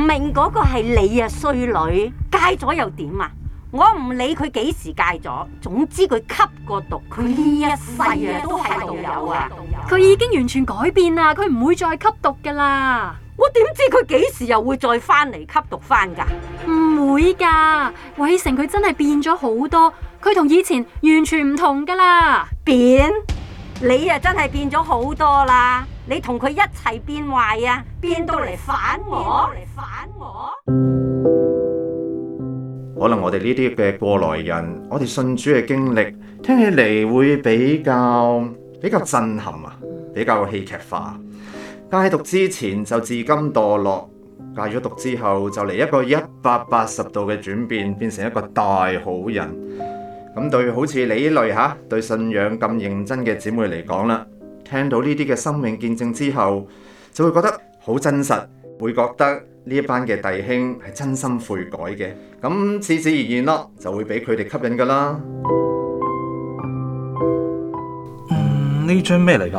明嗰個係你啊，衰女，戒咗又點啊？我唔理佢幾時戒咗，總之佢吸過毒，佢呢一世啊都係毒友啊！ 佢已經完全改變啦，佢唔會再吸毒噶啦。 我點知佢幾時又會再翻嚟吸毒翻噶？ 唔會噶，偉成佢真係變咗好多，佢同以前完全唔同噶啦。 變？你啊真係變咗好多啦！你同佢一齊變壞啊，變到嚟反我。 可能我哋呢啲嘅過來人，我哋信主嘅經歷，聽起嚟會比較震撼啊，比較戲劇化。戒毒之前就自甘墮落，戒咗毒之後就嚟一個180度嘅轉變，變成一個大好人。咁對好似你呢類對信仰咁認真嘅姊妹嚟講啦，聽到呢啲嘅生命見證之後，就會覺得好真實，會覺得呢一班嘅弟兄係真心悔改嘅，咁自自然然咯，就會俾佢哋吸引噶啦。 呢張咩嚟㗎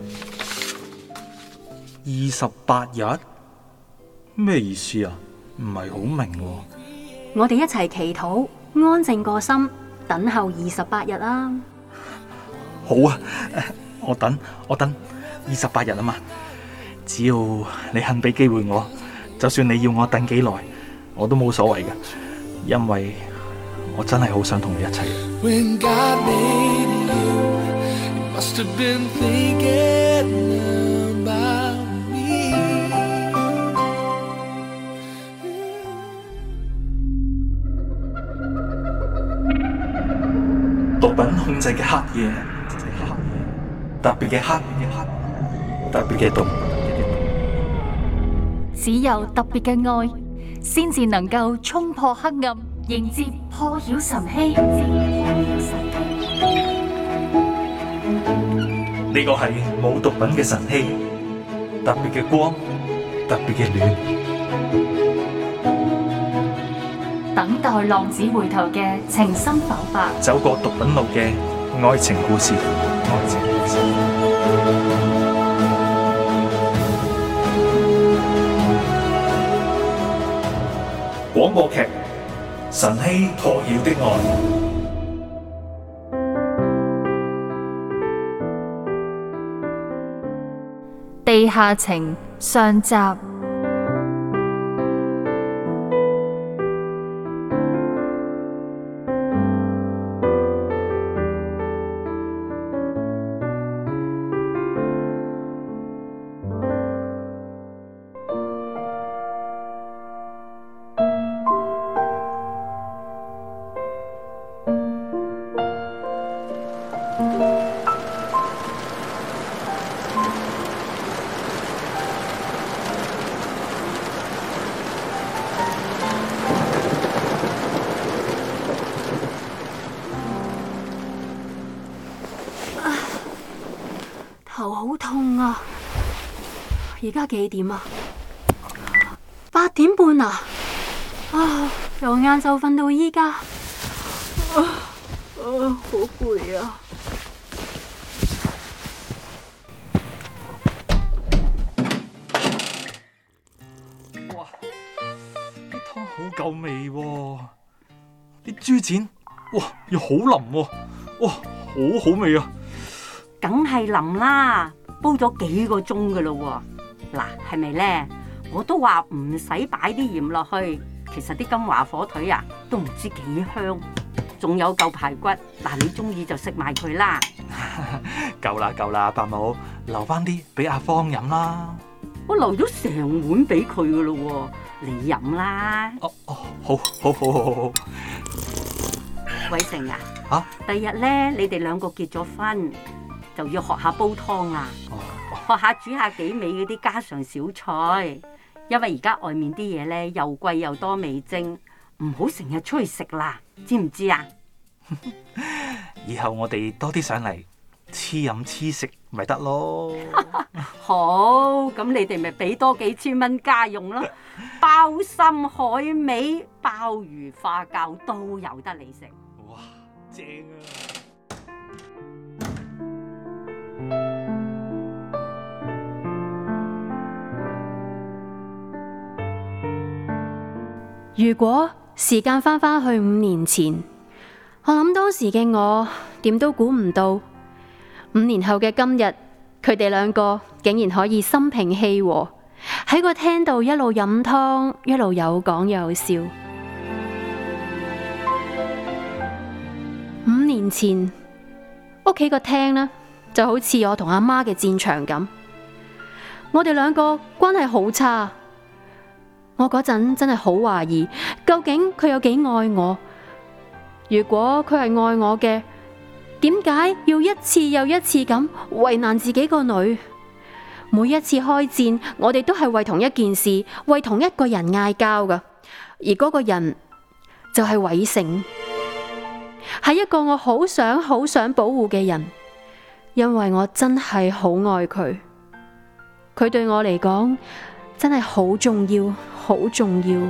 ？28日？咩意思啊？唔係好明喎。 我哋一齊祈禱，安靜個心，等候28日啦。 好啊，我等28日啊嘛。只要你肯俾機會我，就算你要我等幾耐，我都冇所謂嘅，因為我真係好想同你一齊。When God made you, you must have been thinking about me. 毒品控制嘅黑夜，特別嘅黑，特別嘅毒。 只有特別嘅愛，先至能夠衝破黑暗，迎接破曉晨曦。 呢個係冇毒品嘅晨曦，特別嘅光，特別嘅暖。 等待浪子回頭嘅情深剖白， 走過毒品路嘅愛情故事。廣播劇《晨曦破曉的愛》 地下情上集。 頭好痛啊！而家幾點啊？8點半啊！由晏晝瞓到依家，好攰啊！ 哇！啲湯好夠味喎，啲豬展哇又好腍喎，哇好好味啊！ 梗係淋啦，煲咗幾個鐘噶咯喎。嗱，係咪呢？我都話唔使擺啲鹽落去，其實啲金華火腿啊都唔知幾香，仲有嚿排骨。嗱，你中意就食埋佢啦。 夠啦，伯母，留翻啲俾阿芳飲啦。 我留咗成碗俾佢噶咯喎，你飲啦。 好。 偉成啊，第日呢，你哋兩個結咗婚，就要學下煲湯啦，學下煮下幾味嗰啲家常小菜，因為而家外面啲嘢咧又貴又多味精，唔好成日出去食啦，知唔知啊？ 以後我哋多啲上嚟黐飲黐食咪得咯。 好，咁你哋咪俾多幾千蚊家用咯，鮑參海味、鮑魚花膠都有得你食。 哇，正啊！ 如果時間翻返去5年前，我諗當時嘅我點都估唔到，5年後嘅今日，佢哋兩個竟然可以心平氣和喺個廳度一路飲湯，一路有講有笑。5年前屋企個廳呢，就好似我同阿媽嘅戰場咁，我哋兩個關係好差。我嗰陣真係好懷疑，究竟佢有幾愛我？如果佢係愛我嘅，點解要一次又一次咁為難自己個女？每一次開戰，我哋都係為同一件事，為同一個人嗌交㗎，而嗰個人就係偉成，係一個我好想保護嘅人，因為我真係好愛佢，佢對我嚟講真係好重要，好重要。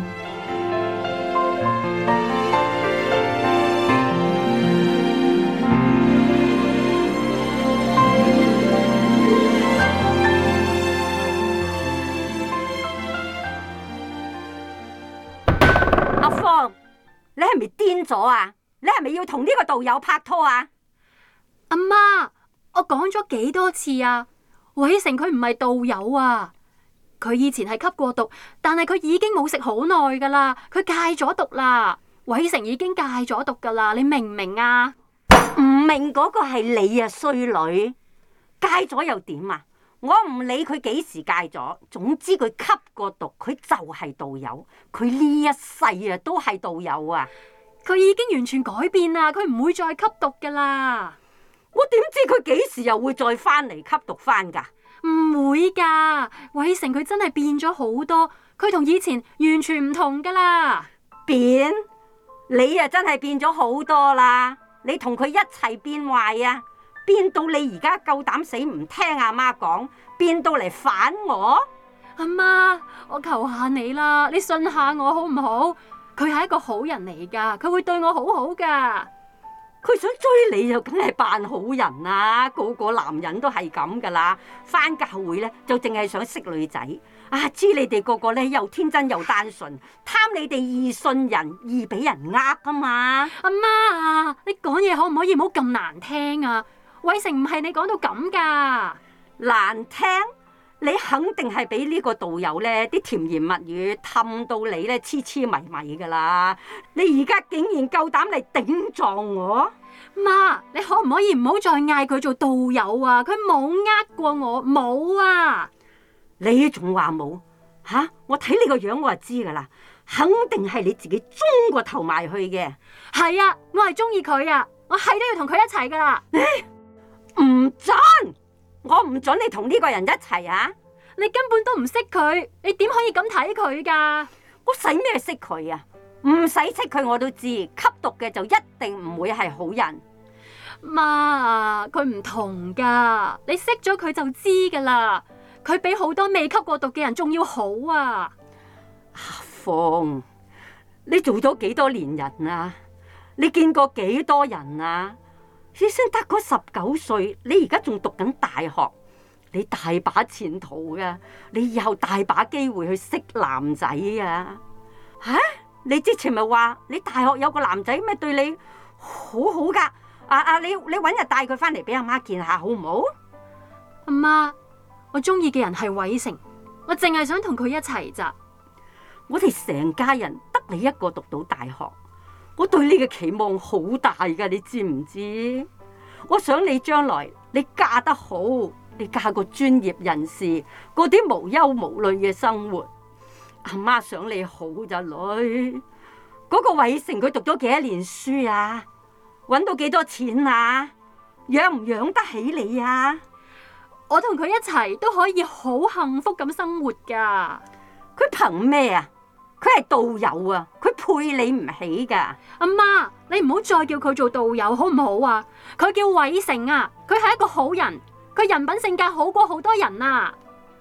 阿芳，你係咪癲咗啊？你係咪要同呢個導友拍拖啊？ 阿媽，我講咗幾多次啊？偉成佢唔係導友啊！佢以前係吸過毒，但係佢已經冇食好耐噶啦，佢戒咗毒啦。偉成已經戒咗毒噶啦，你明唔明啊？ 唔明嗰個係你啊，衰女！戒咗又點啊？我唔理佢幾時戒咗，總之佢吸過毒，佢就係導友，佢呢一世啊都係導友啊！ 佢已經完全改變啦，佢唔會再吸毒噶啦。 我點知佢幾時又會再翻嚟吸毒翻噶？ 唔會噶，偉成佢真係變咗好多，佢同以前完全唔同噶啦。 變？你啊真係變咗好多啦！你同佢一齊變壞啊！變到你而家夠膽死唔聽阿媽講，變到嚟反我。 阿媽，我求下你啦，你信下我好唔好？佢係一個好人嚟噶，佢會對我好好噶。 佢想追你就梗係扮好人啦，個個男人都係咁噶啦。返教會咧就淨係想識女仔，啊知你哋個個咧又天真又單純，貪你哋易信人，易俾人呃啊嘛。 阿媽啊，你講嘢可唔可以唔好咁難聽啊？偉成唔係你講到咁噶。 難聽？你肯定係俾呢個導友咧啲甜言蜜語氹到你咧痴痴迷迷噶啦！你而家竟然夠膽嚟頂撞我？ 媽，你可唔可以唔好再嗌佢做導友啊？佢冇呃過我，冇啊！ 你仲話冇？吓，我睇你個樣我就知噶啦，肯定係你自己中個頭埋去嘅。 係啊，我係中意佢啊，我係都要同佢一齊噶啦。 唔准！我唔准你同呢個人一齊啊！ 你根本都唔識佢，你點可以咁睇佢噶？ 我使咩識佢啊？唔使識佢我都知，吸毒嘅就一定唔會係好人。 媽啊，佢唔同噶，你識咗佢就知噶啦。佢比好多未吸過毒嘅人仲要好啊！ 阿鳳，你做咗幾多年人啊？你見過幾多人啊？你先得嗰19歲，你而家仲讀緊大學，你大把前途噶，你以後大把機會去識男仔啊！吓，你之前咪話你大學有個男仔咩對你好好噶？你搵日帶佢翻嚟俾阿媽見下好唔好？ 阿媽，我中意嘅人係偉成，我淨係想同佢一齊咋。 我哋成家人得你一個讀到大學。我對你嘅期望好大噶，你知唔知？我想你將來你嫁得好，你嫁個專業人士，過啲無憂無慮嘅生活。阿媽想你好咋女？嗰個偉成佢讀咗幾多年書啊？搵到幾多錢啊？養唔養得起你啊？ 我同佢一齊都可以好幸福咁生活噶。 佢憑咩啊？佢係導友啊，佢配你唔起噶。 阿媽，你唔好再叫佢做導友好唔好啊？佢叫偉成啊，佢係一個好人，佢人品性格好過好多人啊，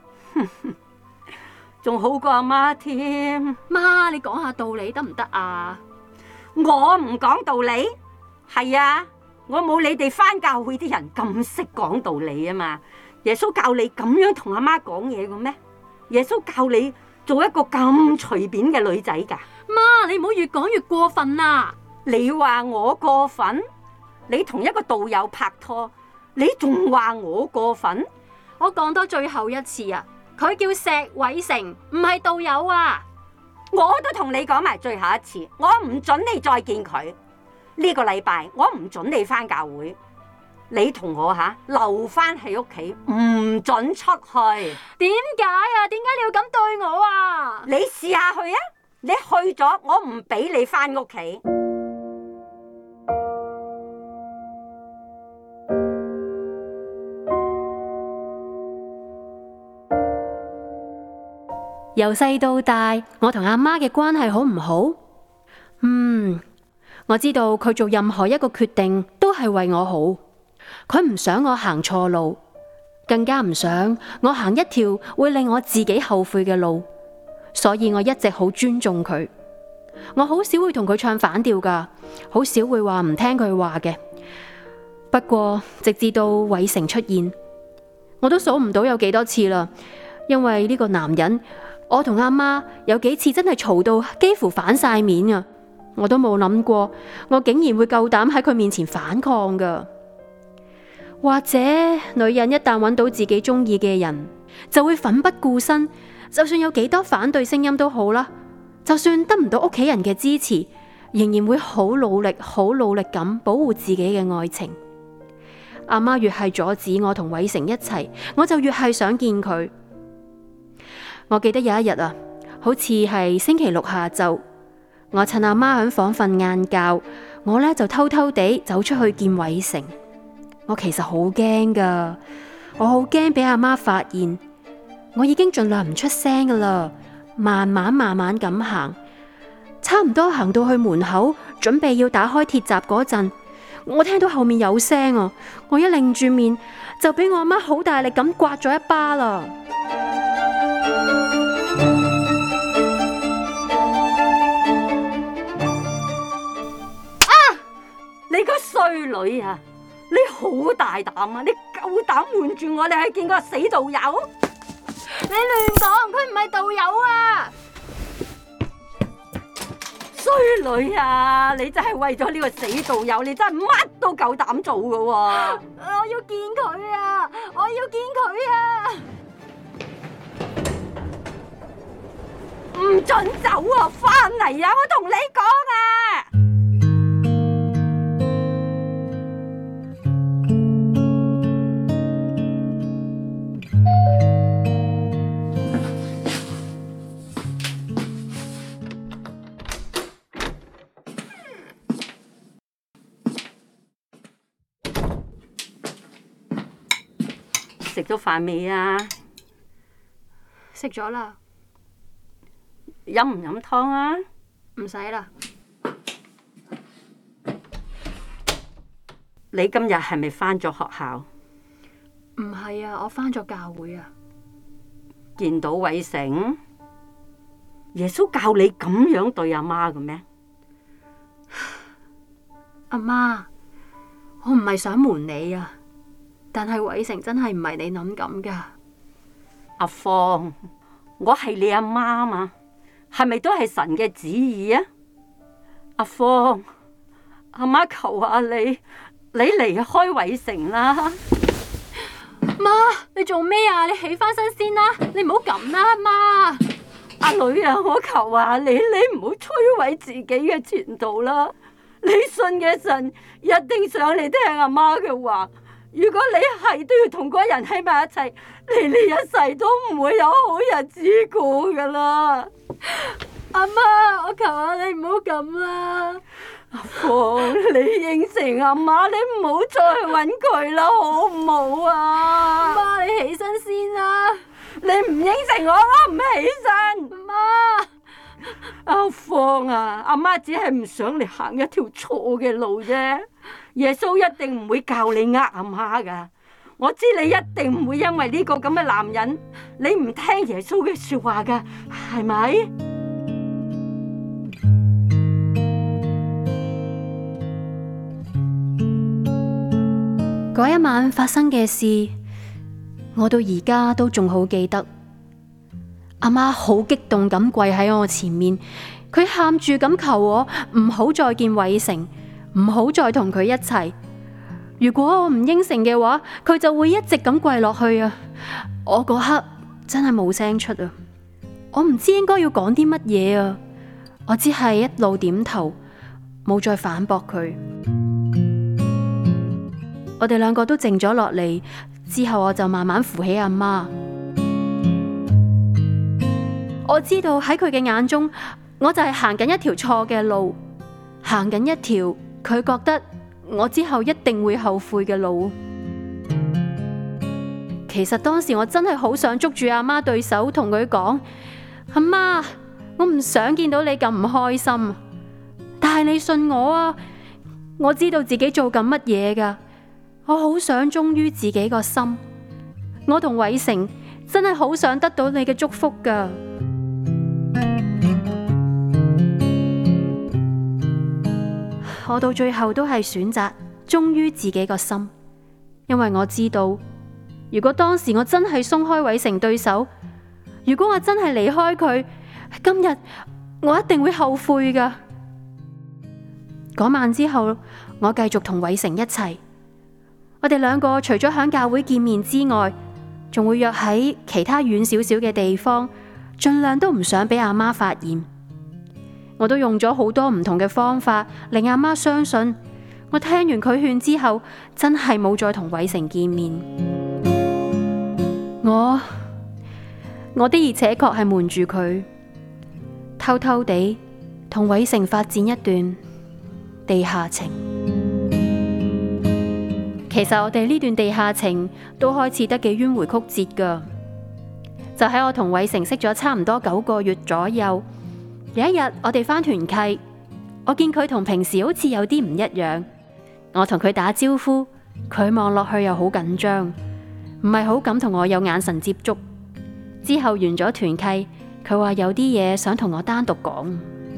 仲好過阿媽添。 媽，你講下道理得唔得啊？ 我唔講道理，係啊，我冇你哋返教會啲人咁識講道理啊嘛。耶穌教你咁樣同阿媽講嘢嘅咩？耶穌教你做一個咁隨便嘅女仔噶？ 媽，你唔好越講越過分啊！ 你話我過分？你同一個道友拍拖，你仲話我過分？ 我講多最後一次啊！佢叫石偉成，唔係道友啊！ 我都同你講埋最後一次，我唔准你再見佢。呢個禮拜我唔准你返教會，你同我留返喺屋企，唔准出去。 點解啊？點解你要咁對我啊？ 你試下去啊！你去咗，我唔俾你返屋企。 由細到大，我同阿媽嘅關係好唔好？我知道佢做任何一個決定都係為我好，佢唔想我行錯路，更加唔想我行一條會令我自己後悔嘅路，所以我一直好尊重佢。我好少會同佢唱反調㗎，好少會話唔聽佢話嘅。不過直至到偉成出現，我都數唔到有幾多次啦，因為呢個男人，我同阿媽有幾次真係嘈到幾乎反晒面啊！我都冇諗過，我竟然會夠膽喺佢面前反抗噶。或者女人一旦揾到自己中意嘅人，就會奮不顧身，就算有幾多反對聲音都好啦，就算得唔到屋企人嘅支持，仍然會好努力咁保護自己嘅愛情。阿媽越係阻止我同偉成一齊，我就越係想見佢。我記得有一日啊，好似係星期六下晝，我趁阿媽喺房瞓晏覺，我呢就偷偷地走出去見偉成。我其實好驚噶，我好驚俾阿媽發現。我已經盡量唔出聲噶啦，慢慢咁行，差唔多行到去門口，準備要打開鐵閘嗰陣，我聽到後面有聲啊！我一擰住面，就俾我阿媽好大力咁刮咗一巴啦。 你個衰女啊！你好大膽啊！你夠膽瞞住我哋去見個死道友？ 你亂講，佢唔係道友啊！ 衰女啊！你真係為咗呢個死道友，你真係乜都夠膽做噶喎！ 我要見佢啊！我要見佢啊！ 唔准走啊！翻嚟啊！我同你講啊！食咗飯未啊？ 食咗啦。 飲唔飲湯啊？ 唔使啦。 你今日係咪返咗學校？ 唔係啊，我返咗教會啊。 見到偉成？耶穌教你咁樣對阿媽嘅咩？ 阿媽，我唔係想瞞你啊。但係偉成真係唔係你諗咁噶。 阿芳，我係你阿媽嘛，係咪都係神嘅旨意啊？阿芳，阿媽求下你離開偉成啦。 媽，你做咩啊？你起翻身先啦，你唔好咁啦，媽。 阿女啊，我求下你唔好摧毀自己嘅前途啦。你信嘅神一定想你聽阿媽嘅話。如果你係都要同嗰人喺埋一齊，你呢一世都唔會有好日子過噶啦。 阿媽，我求下你唔好咁啦。 阿芳，你應承阿媽，你唔好再去搵佢啦，好唔好啊？ 媽，你起身先啦。 你唔應承我唔起身。 媽， 阿芳啊，阿媽只係唔想你行一條錯嘅路啫。耶穌一定唔會教你呃阿媽噶，我知你一定唔會因為呢個咁嘅男人，你唔聽耶穌嘅說話噶，係咪？ 嗰一晚發生嘅事，我到而家都仲好記得。 阿媽好激動咁跪喺我前面，佢喊住咁求我唔好再見偉成，唔好再同佢一齊。如果我唔應承嘅話，佢就會一直咁跪落去啊！我嗰刻真係冇聲出啊！我唔知應該要講啲乜嘢啊！我只係一路點頭，冇再反駁佢。我哋兩個都靜咗落嚟，之後我就慢慢扶起阿媽。我知道喺佢嘅眼中，我就係行緊一條錯嘅路，行緊一條佢覺得我之後一定會後悔嘅路。其實當時我真係好想捉住阿媽對手，同佢講：阿媽，我唔想見到你咁唔開心，但係你信我啊！我知道自己做緊乜嘢㗎，我好想忠於自己個心。我同偉成真係好想得到你嘅祝福㗎。我到最後都係選擇忠於自己個心，因為我知道，如果當時我真係鬆開偉成對手，如果我真係離開佢，今日我一定會後悔㗎。嗰晚之後，我繼續同偉成一齊。我哋兩個除咗喺教會見面之外，仲會約喺其他遠少少嘅地方，盡量都唔想俾阿媽發現。我都用咗好多唔同嘅方法，令阿媽相信。我聽完佢勸之後，真係冇再同偉成見面。我的而且確係瞞住佢，偷偷地同偉成發展一段地下情。其實我哋呢段地下情都開始得幾迂迴曲折㗎。就喺我同偉成識咗差唔多9個月左右，有一日我哋返團契，我見佢同平時好似有啲唔一樣。我同佢打招呼，佢望落去又好緊張，唔係好敢同我有眼神接觸。之後完咗團契，佢話有啲嘢想同我單獨講。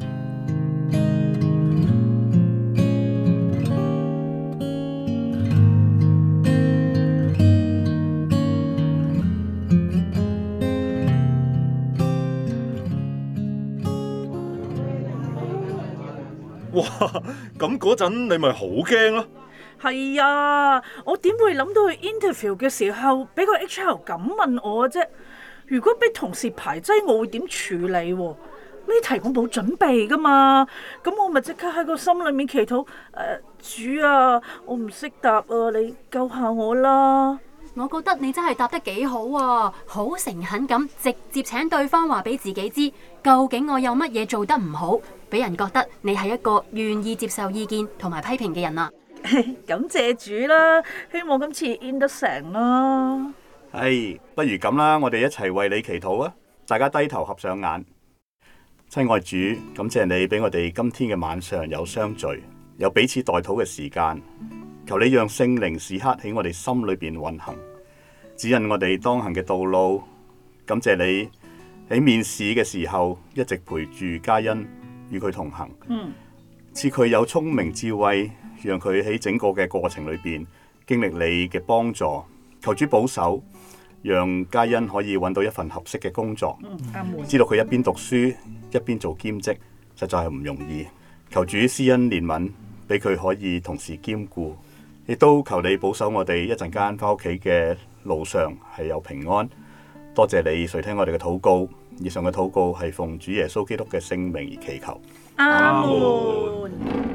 哇！咁嗰陣你咪好驚咯。 係啊，我點會諗到去 interview 嘅時候俾個 HR 咁問我啫？如果俾同事排擠，我會點處理？呢題我冇準備噶嘛，咁我咪即刻喺個心裏面祈禱，主啊，我唔識答啊，你救下我啦！ 我覺得你真係答得幾好啊，好誠懇咁直接請對方話俾自己知，究竟我有乜嘢做得唔好，俾人覺得你係一個願意接受意見同埋批評嘅人啊！ 感謝主啦，希望今次 in 得成啦。 不如咁啦，我哋一齊為你祈禱啊！大家低頭合上眼。親愛主，感謝你俾我哋今天嘅晚上有相聚，有彼此代禱嘅時間。求你讓聖靈時刻喺我哋心裏邊運行，指引我哋當行嘅道路。感謝你喺面試嘅時候一直陪住嘉欣，與佢同行，賜佢有聰明智慧，讓佢喺整個嘅過程裏邊經歷你嘅幫助。求主保守，讓嘉欣可以揾到一份合適嘅工作。知道佢一邊讀書一邊做兼職，實在係唔容易。求主施恩憐憫，俾佢可以同時兼顧。亦都求你保守我哋一陣間返屋企嘅路上係有平安。多謝你垂聽我哋嘅禱告。以上嘅禱告係奉主耶穌基督嘅聖名而祈求。 阿門。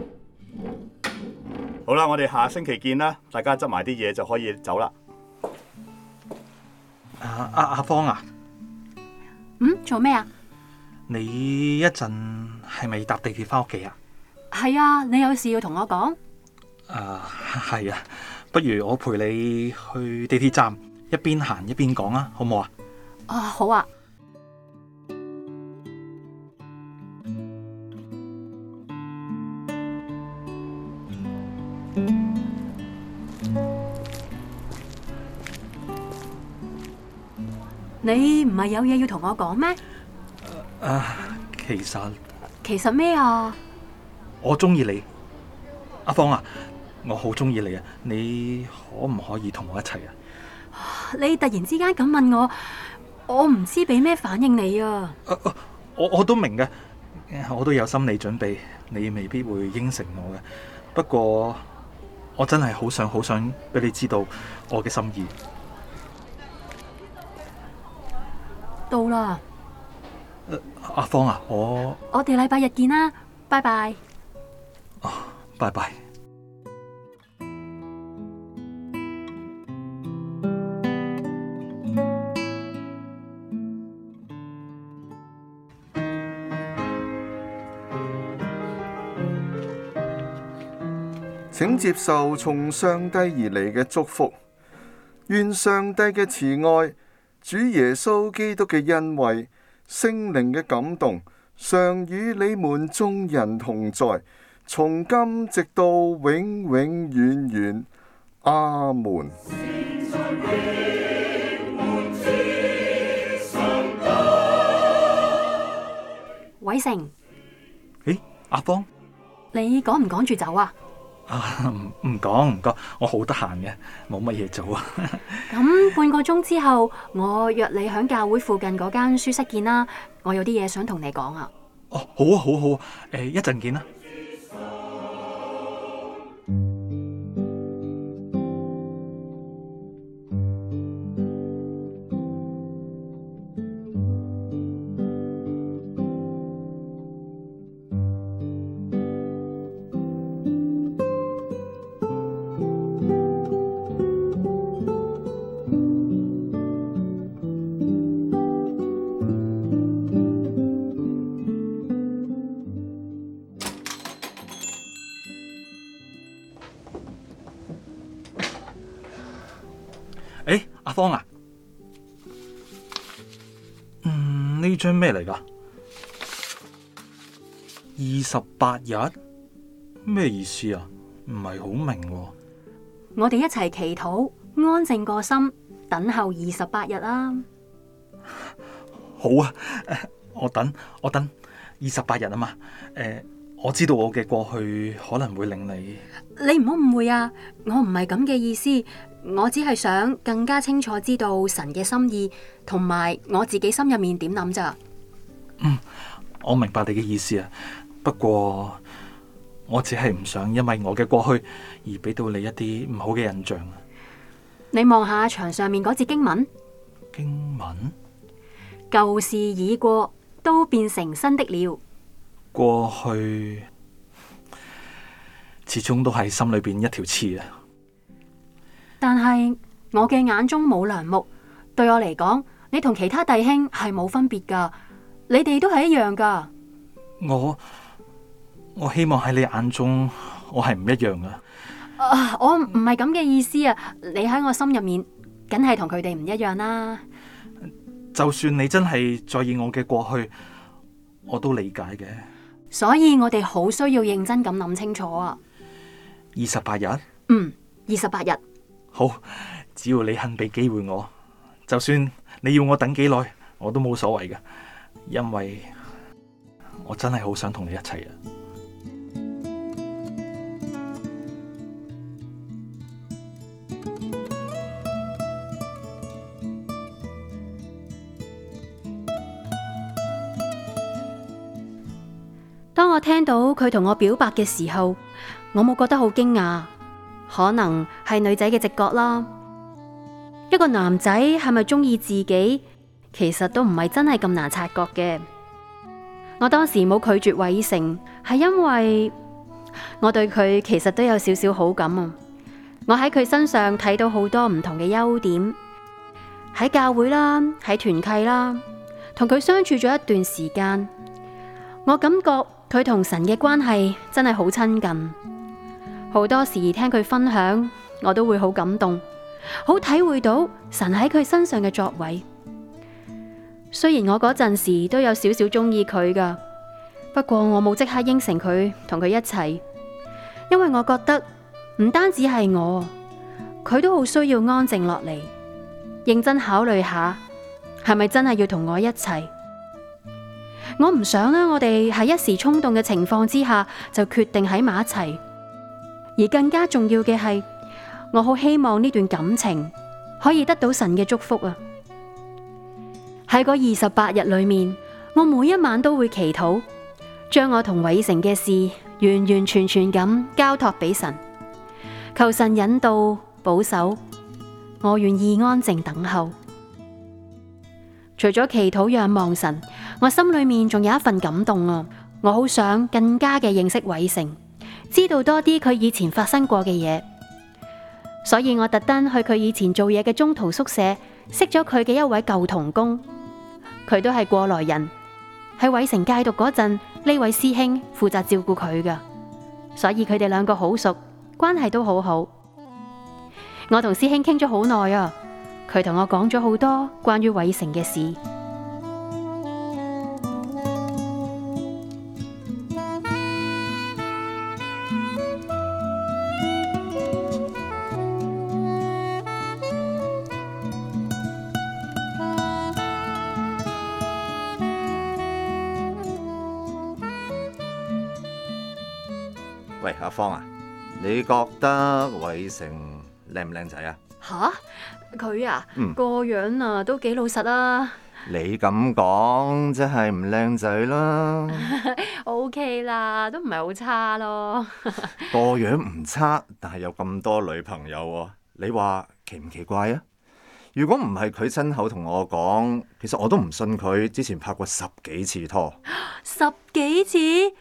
好啦，我哋下星期見啦。大家執埋啲嘢就可以走啦。 阿芳啊， 做咩啊？ 你一陣係咪搭地鐵返屋企啊？ 係啊，你有事要同我講？ 係啊，不如我陪你去地鐵站，一邊行一邊講啊，好唔好啊？ 好啊。你唔係有嘢要同我講咩？ 其實咩啊？ 我中意你，阿芳啊，我好中意你啊！你可唔可以同我一齊啊？ 你突然之間咁問我， 我唔知俾咩反應你啊。 我都明嘅，我都有心理準備，你未必會應承我嘅。不過我真係好想俾你知道我嘅心意。 到啦。 阿芳啊，我哋禮拜日見啦，拜拜。 拜拜。 請接受從上帝而嚟嘅祝福，願上帝嘅慈愛、主耶穌基督嘅恩惠、聖靈嘅感動，常與你們眾人同在，從今直到永永遠遠。阿門。 偉成， 阿芳， 你趕唔趕住走啊？ 唔講，我好得閒嘅，冇乜嘢做啊。 咁半個鐘之後，我約你喺教會附近嗰間書室見啦。我有啲嘢想同你講啊。 好啊，一陣見啦。阿芳啊，呢張咩嚟㗎？28日咩意思啊？唔係好明喎。 我哋一齊祈禱，安靜個心，等候28日啦。 好啊，我等28日啊嘛。我知道我嘅過去可能會令你唔好誤會啊！我唔係咁嘅意思，我只係想更加清楚知道神嘅心意，同埋我自己心入面點諗咋。 我明白你嘅意思啊。不過我只係唔想因為我嘅過去而俾到你一啲唔好嘅印象。 你望下牆上面嗰節經文，舊事已過，都變成新的了。 過去始終都係心裏邊一條刺啊！ 但係我嘅眼中冇梁木，對我嚟講，你同其他弟兄係冇分別噶，你哋都係一樣噶。 我希望喺你眼中，我係唔一樣噶。 我唔係咁嘅意思啊！你喺我心入面，梗係同佢哋唔一樣啦。 就算你真係在意我嘅過去，我都理解嘅。 所以我哋好需要認真咁諗清楚啊 ！28日 ？28日。 好，只要你肯俾機會我，就算你要我等幾耐，我都冇所謂嘅，因為我真係好想同你一齊啊！ 當我聽到佢同我表白嘅時候，我冇覺得好驚訝，可能係女仔嘅直覺啦。一個男仔係咪中意自己，其實都唔係真係咁難察覺嘅。我當時冇拒絕偉成，係因為我對佢其實都有少少好感啊。我喺佢身上睇到好多唔同嘅優點，喺教會啦，喺團契啦，同佢相處咗一段時間，我感覺佢同神嘅關係真係好親近，好多時聽佢分享，我都會好感動，好體會到神喺佢身上嘅作為。雖然我嗰陣時都有少少中意佢噶，不過我冇即刻應承佢同佢一齊，因為我覺得唔單止係我，佢都好需要安靜落嚟，認真考慮下係咪真係要同我一齊。我唔想咧，我哋喺一時衝動嘅情況之下就決定喺埋一齊，而更加重要嘅係，我好希望呢段感情可以得到神嘅祝福啊！ 喺嗰28日裏面，我每一晚都會祈禱，將我同偉成嘅事完完全全咁交託俾神，求神引導保守，我願意安靜等候。除咗祈禱仰望神，我心裏面仲有一份感動啊！我好想更加嘅認識偉成，知道多啲佢以前發生過嘅嘢，所以我特登去佢以前做嘢嘅中途宿舍，識咗佢嘅一位舊同工，佢都係過來人。喺偉成戒毒嗰陣，呢位師兄負責照顧佢噶，所以佢哋兩個好熟，關係都好好。我同師兄傾咗好耐啊，佢同我講咗好多關於偉成嘅事。 喂，阿芳啊，你覺得偉成靚唔靚仔啊？ 吓？佢啊，個樣啊都幾老實啊。 你咁講，即係唔靚仔啦。 OK 啦，都唔係好差咯。 個樣唔差，但係有咁多女朋友喎，你話奇唔奇怪啊？如果唔係佢親口同我講，其實我都唔信佢之前拍過10幾次拖。 10幾次？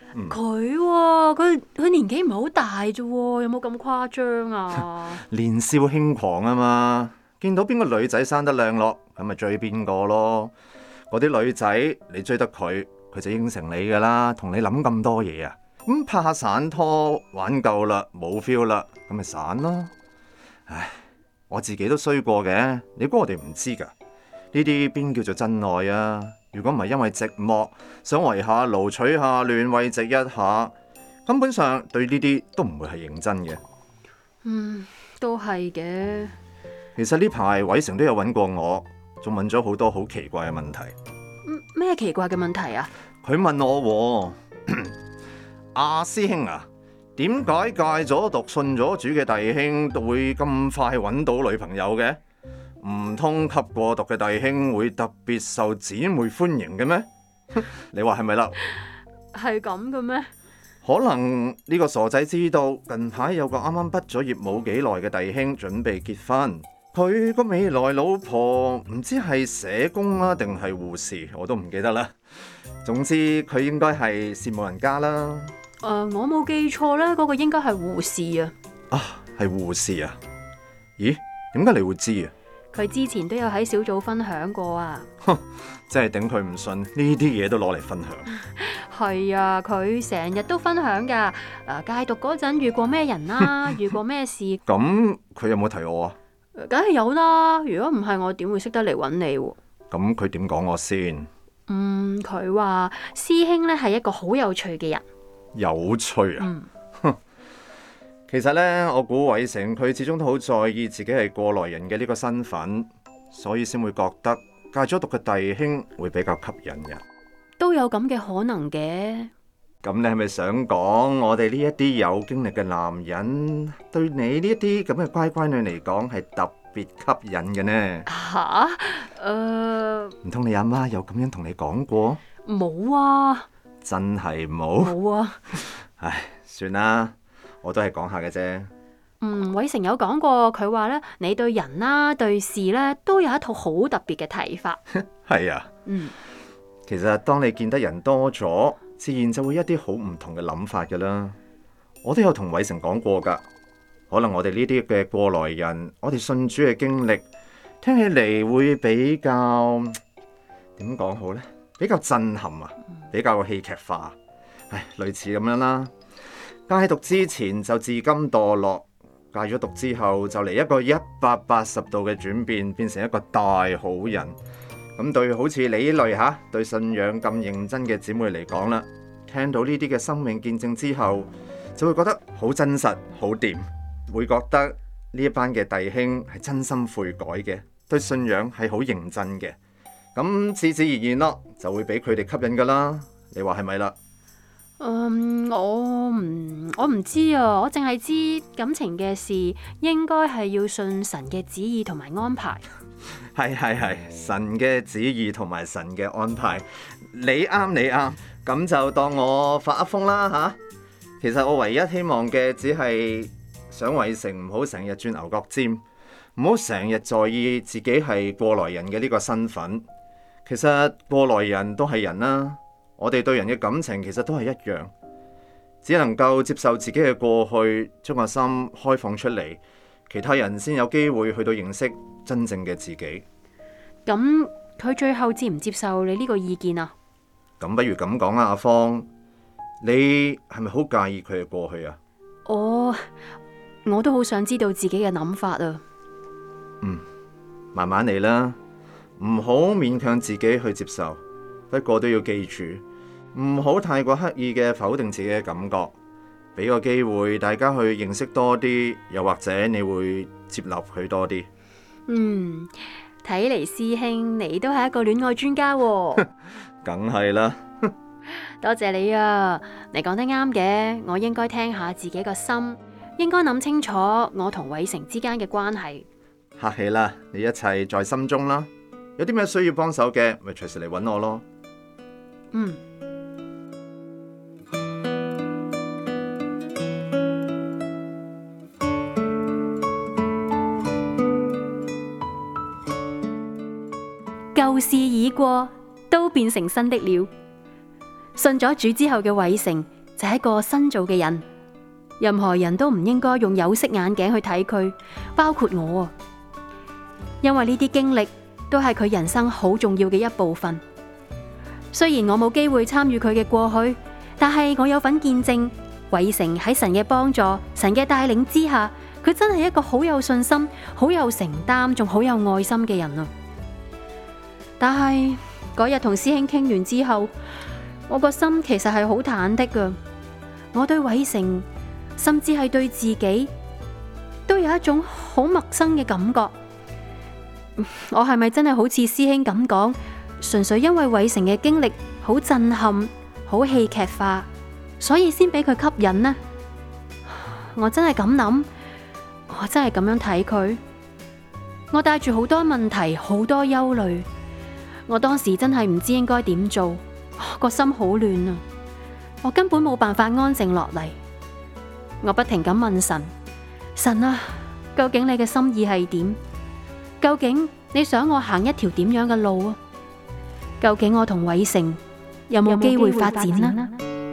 佢年紀唔係好大啫，有冇咁誇張啊？ 年少輕狂啊嘛，見到邊個女仔生得靚咯，咁咪追邊個咯。嗰啲女仔你追得佢，佢就應承你噶啦，同你諗咁多嘢啊。咁拍下散拖玩夠啦，冇 feel 啦，咁咪散咯。唉，我自己都衰過嘅，你估我哋唔知噶？呢啲邊叫做真愛啊？如果唔係因為寂寞，想圍下爐取下暖慰藉一下，根本上對呢啲都唔會係認真嘅。 都係嘅。 其實呢排偉成都有揾過我，仲問咗好多好奇怪嘅問題。 咩奇怪嘅問題啊？ 佢問我阿師兄啊，點解戒咗毒信咗主嘅弟兄都會咁快揾到女朋友嘅？唔通吸過毒嘅弟兄會特別受姊妹歡迎嘅咩？你話係咪啦？ 係咁嘅咩？ 可能呢個傻仔知道近排有個啱啱畢咗業冇幾耐嘅弟兄準備結婚，佢個未來老婆唔知係社工啊定係護士，我都唔記得啦。總之佢應該係羨慕人家啦。 我冇記錯咧，嗰個應該係護士啊。 啊，係護士啊？咦，點解你會知啊？ 佢之前都有喺小組分享過啊。 真係頂佢唔順，呢啲嘢都攞嚟分享。 係啊，佢成日都分享噶。戒毒嗰陣遇過咩人啦，遇過咩事。 咁佢有冇提我啊？ 梗係有啦，如果唔係我點會識得嚟揾你？ 咁佢點講我先？ 佢話師兄咧係一個好有趣嘅人。 有趣啊？其實呢，我估偉成佢始終都好在意自己係過來人嘅呢個身份，所以先會覺得戒咗毒嘅弟兄會比較吸引人。 都有咁嘅可能嘅。 咁你係咪想講我哋呢一啲有經歷嘅男人，對你呢一啲咁嘅乖乖女嚟講係特別吸引嘅呢？ 吓？ 唔通你阿媽有咁樣同你講過？ 冇啊。 真係冇？ 冇啊。 唉，算啦。我都係講下嘅啫。 偉成有講過，佢話咧，你對人啦、對事咧，都有一套好特別嘅睇法。 係啊。其實當你見得人多咗，自然就會一啲好唔同嘅諗法噶啦。我都有同偉成講過噶。可能我哋呢啲嘅過來人，我哋信主嘅經歷，聽起嚟會比較點講好呢？比較震撼啊，比較戲劇化。唉，類似咁樣啦。戒毒之前就自甘墮落，戒咗毒之後就嚟一個180度嘅轉變，變成一個大好人。咁對好似你呢類對信仰咁認真嘅姊妹嚟講啦，聽到呢啲嘅生命見證之後，就會覺得好真實、好掂，會覺得呢一班嘅弟兄係真心悔改嘅，對信仰係好認真嘅。咁自自然然咯，就會俾佢哋吸引噶啦。你話係咪啦？ 我唔知啊，我淨係知感情嘅事應該係要信神嘅旨意同埋安排。 係，神嘅旨意同埋神嘅安排，你啱，咁就當我發噏風啦嚇。其實我唯一希望嘅只係想偉成唔好成日轉牛角尖，唔好成日在意自己係過來人嘅呢個身份。其實過來人都係人啦，我哋對人嘅感情其實都係一樣，只能夠接受自己嘅過去，將個心開放出嚟，其他人先有機會去到認識真正嘅自己。 咁佢最後接唔接受你呢個意見啊？ 咁不如咁講啊，阿芳，你係咪好介意佢嘅過去啊？ 我都好想知道自己嘅諗法啊。 慢慢嚟啦，唔好勉強自己去接受。不過都要記住，唔好太過刻意嘅否定自己嘅感覺，俾個機會大家去認識多啲，又或者你會接納佢多啲。 睇嚟師兄你都係一個戀愛專家喎。 梗係啦。 多謝你啊，你講得啱嘅，我應該聽下自己個心，應該諗清楚我同偉成之間嘅關係。 客氣啦，你一切在心中啦。有啲咩需要幫手嘅，咪隨時嚟搵我咯。 舊事已過，都變成新的了。信咗主之後嘅偉成就係一個新造嘅人，任何人都唔應該用有色眼鏡去睇佢，包括我啊。因為呢啲經歷都係佢人生好重要嘅一部分。雖然我冇機會參與佢嘅過去，但係我有份見證偉成喺神嘅幫助、神嘅帶領之下，佢真係一個好有信心、好有承擔，仲好有愛心嘅人啊。但係嗰日同師兄傾完之後，我個心其實係好忐忑噶。我對偉成，甚至係對自己，都有一種好陌生嘅感覺。我係咪真係好似師兄咁講，純粹因為偉成嘅經歷好震撼、好戲劇化，所以先俾佢吸引呢？我真係咁諗，我真係咁樣睇佢。我帶住好多問題、好多憂慮，我當時真係唔知應該點做，個心好亂啊！我根本冇辦法安靜落嚟，我不停咁問神：神啊，究竟你嘅心意係點？究竟你想我行一條點樣嘅路啊？究竟我同偉成有冇機會發展呢？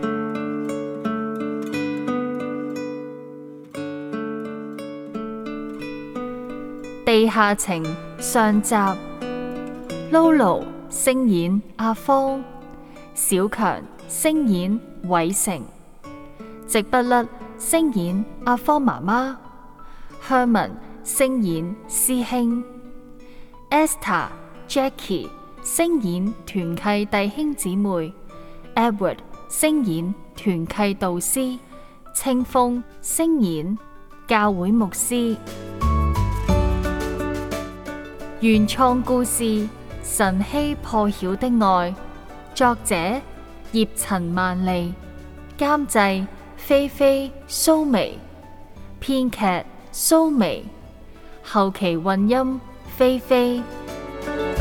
地下情上集，Lulu 聲演阿芳，小強聲演偉成，直不甩聲演阿芳媽媽，香文聲演師兄，Esther、Jackie 聲演團契弟兄姊妹， Edward 聲演團契導師，清風聲演教會牧師。原創故事晨曦破曉的愛，作者葉陳萬利，監製菲菲蘇眉，編劇蘇眉，後期混音菲菲。